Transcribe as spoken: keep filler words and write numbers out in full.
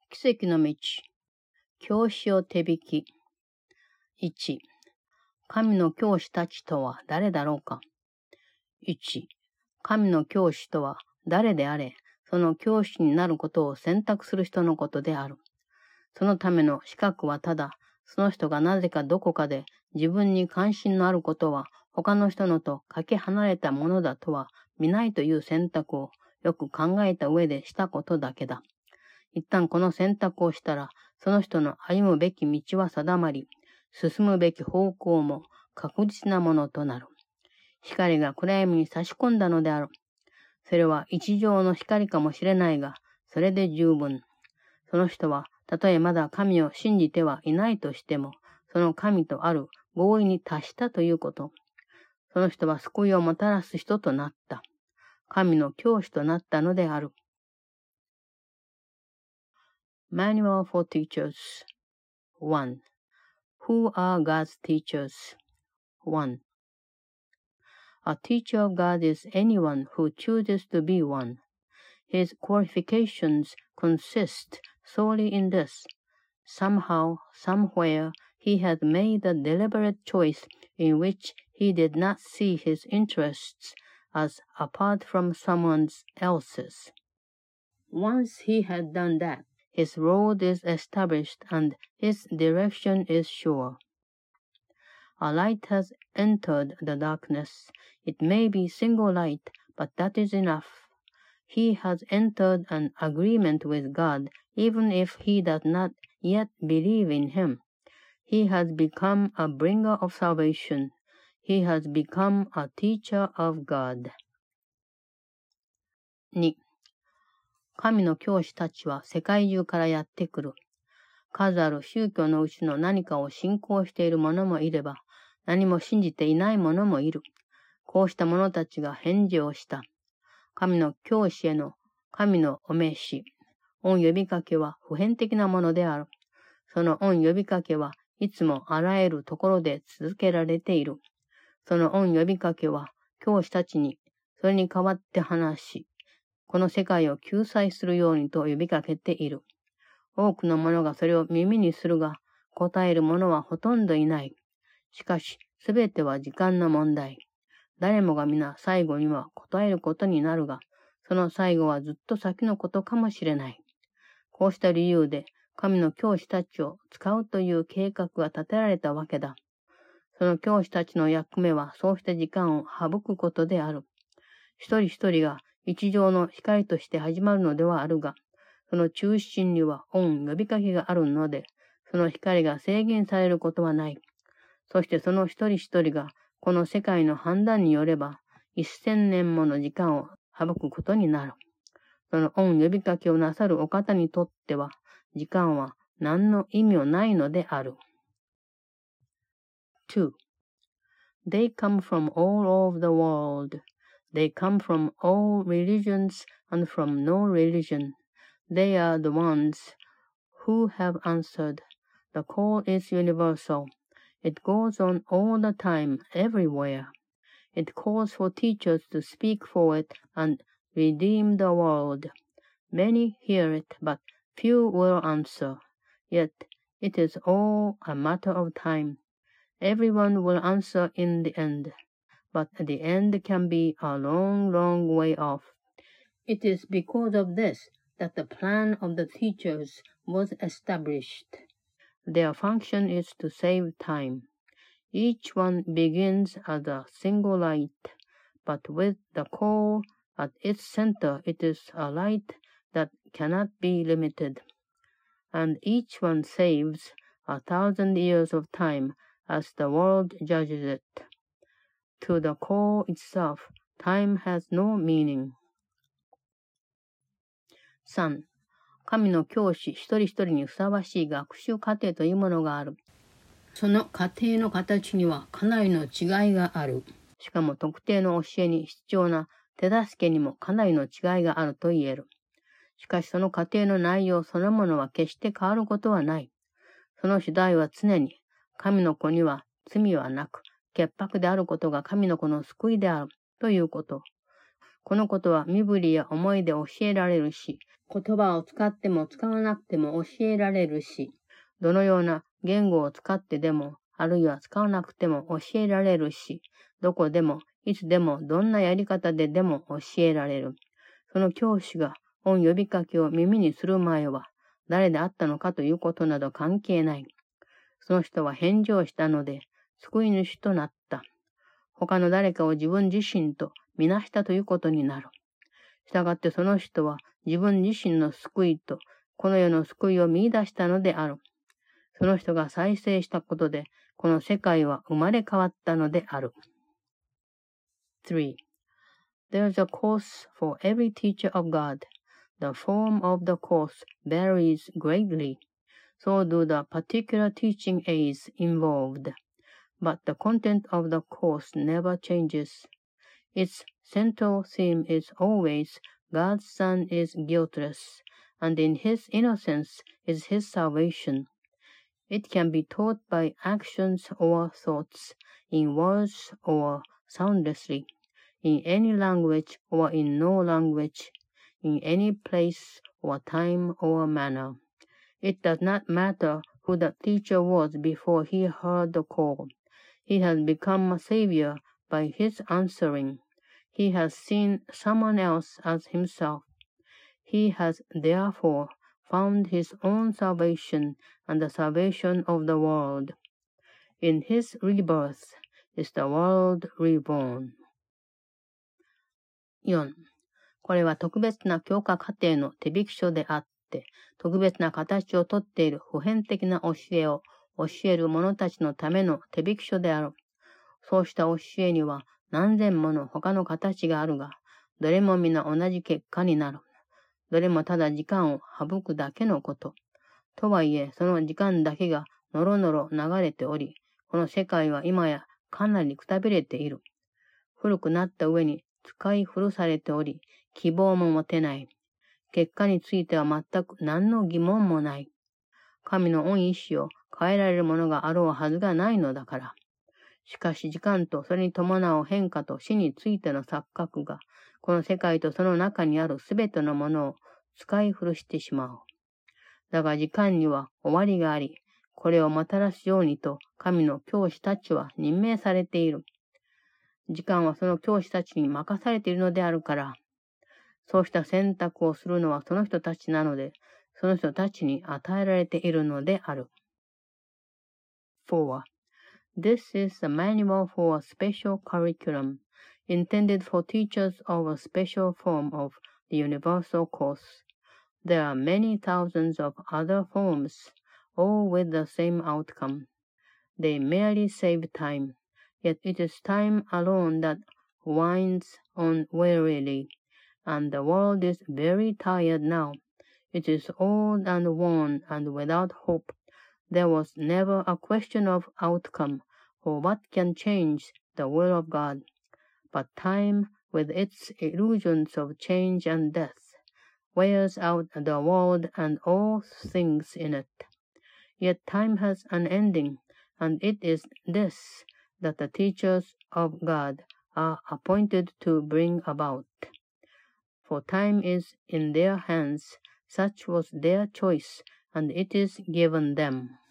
奇跡の道。教師を手引き。いち、神の教師たちとは誰だろうか。いち、神の教師とは誰であれ、その教師になることを選択する人のことである。そのための資格はただ、その人がなぜかどこかで自分に関心のあることは他の人のとかけ離れたものだとは見ないという選択をよく考えた上でしたことだけだ。一旦この選択をしたら、その人の歩むべき道は定まり、進むべき方向も確実なものとなる。光が暗闇に差し込んだのである。それは一条の光かもしれないが、それで十分。その人は、たとえまだ神を信じてはいないとしても、その神とある合意に達したということ。その人は救いをもたらす人となった。神の教師となったのである。Manual for Teachers ワン. Who are God's teachers? ワン. A teacher of God is anyone who chooses to be one. His qualifications consist solely in this. Somehow, somewhere, he has made a deliberate choice in which he did not see his interests as apart from someone else's. Once he had done that, his road is established and his direction is sure. A light has entered the darkness. It may be single light, but that is enough. He has entered an agreement with God, even if he does not yet believe in him. He has become a bringer of salvation. He has become a teacher of God. に. 神の教師たちは世界中からやってくる。数ある宗教のうちの何かを信仰している者もいれば、何も信じていない者もいる。こうした者たちが返事をした。神の教師への神のお召し、御呼びかけは普遍的なものである。その御呼びかけはいつもあらゆるところで続けられている。その御呼びかけは教師たちにそれに代わって話し、この世界を救済するようにと呼びかけている。多くの者がそれを耳にするが、答える者はほとんどいない。しかし、すべては時間の問題。誰もが皆最後には答えることになるが、その最後はずっと先のことかもしれない。こうした理由で、神の教師たちを使うという計画が立てられたわけだ。その教師たちの役目は、そうした時間を省くことである。一人一人が一条の光として始まるのではあるが、その中心には御呼びかけがあるので、その光が制限されることはない。そしてその一人一人が、この世界の判断によれば、一千年もの時間を省くことになる。その御呼びかけをなさるお方にとっては、時間は何の意味もないのである。two. They come from all over the world. They come from all religions and from no religion. They are the ones who have answered. The call is universal. It goes on all the time, everywhere. It calls for teachers to speak for it and redeem the world. Many hear it, but few will answer. Yet it is all a matter of time. Everyone will answer in the end, but the end can be a long, long way off. It is because of this that the plan of the teachers was established. Their function is to save time. Each one begins as a single light, but with the call at its center it is a light that cannot be limited. And each one saves a thousand years of time as the world judges it. To the call itself, time has no meaning. さん. 神の教師一人一人にふさわしい学習過程というものがある。その過程の形にはかなりの違いがある。しかも特定の教えに必要な手助けにもかなりの違いがあると言える。しかしその過程の内容そのものは決して変わることはない。その主題は常に、神の子には罪はなく、潔白であることが神の子の救いであるということ。 このことは身振りや思いで教えられるし、言葉を使っても使わなくても教えられるし、どのような言語を使ってでも、あるいは使わなくても教えられるし、どこでも、いつでも、どんなやり方ででも教えられる。その教師が御呼びかけを耳にする前は、誰であったのかということなど関係ない。その人は返事をしたので、救い主となった。他の誰かを自分自身とみなしたということになる。したがってその人は自分自身の救いとこの世の救いを見出したのである。その人が再生したことで、この世界は生まれ変わったのである。three. There is a course for every teacher of God. The form of the course varies greatly. So do the particular teaching aids involved. But the content of the course never changes. Its central theme is always God's Son is guiltless, and in his innocence is his salvation. It can be taught by actions or thoughts, in words or soundlessly, in any language or in no language, in any place or time or manner. It does not matter who the teacher was before he heard the call. He has become a savior by his answering. He has seen someone else as himself. He has therefore found his own salvation and the salvation of the world. In his rebirth is the world reborn. よん. これは特別な教化課程の手引き書であって、特別な形をとっている普遍的な教えを教える者たちのための手引き書である。そうした教えには何千もの他の形があるが、どれも皆同じ結果になる。どれもただ時間を省くだけのこと。とはいえ、その時間だけがのろのろ流れており、この世界は今やかなりくたびれている。古くなった上に使い古されており、希望も持てない。結果については全く何の疑問もない。神の御意志を変えられるものがあろうはずがないのだから。しかし時間とそれに伴う変化と死についての錯覚が、この世界とその中にあるすべてのものを使い古してしまう。だが時間には終わりがあり、これをもたらすようにと神の教師たちは任命されている。時間はその教師たちに任されているのであるから、そうした選択をするのはその人たちなので、その人たちに与えられているのである。four. This is a manual for a special curriculum, intended for teachers of a special form of the universal course. There are many thousands of other forms, all with the same outcome. They merely save time, yet it is time alone that winds on wearily, and the world is very tired now. It is old and worn and without hope. There was never a question of outcome, or what can change the will of God. But time, with its illusions of change and death, wears out the world and all things in it. Yet time has an ending, and it is this that the teachers of God are appointed to bring about. For time is in their hands, such was their choice, and it is given them.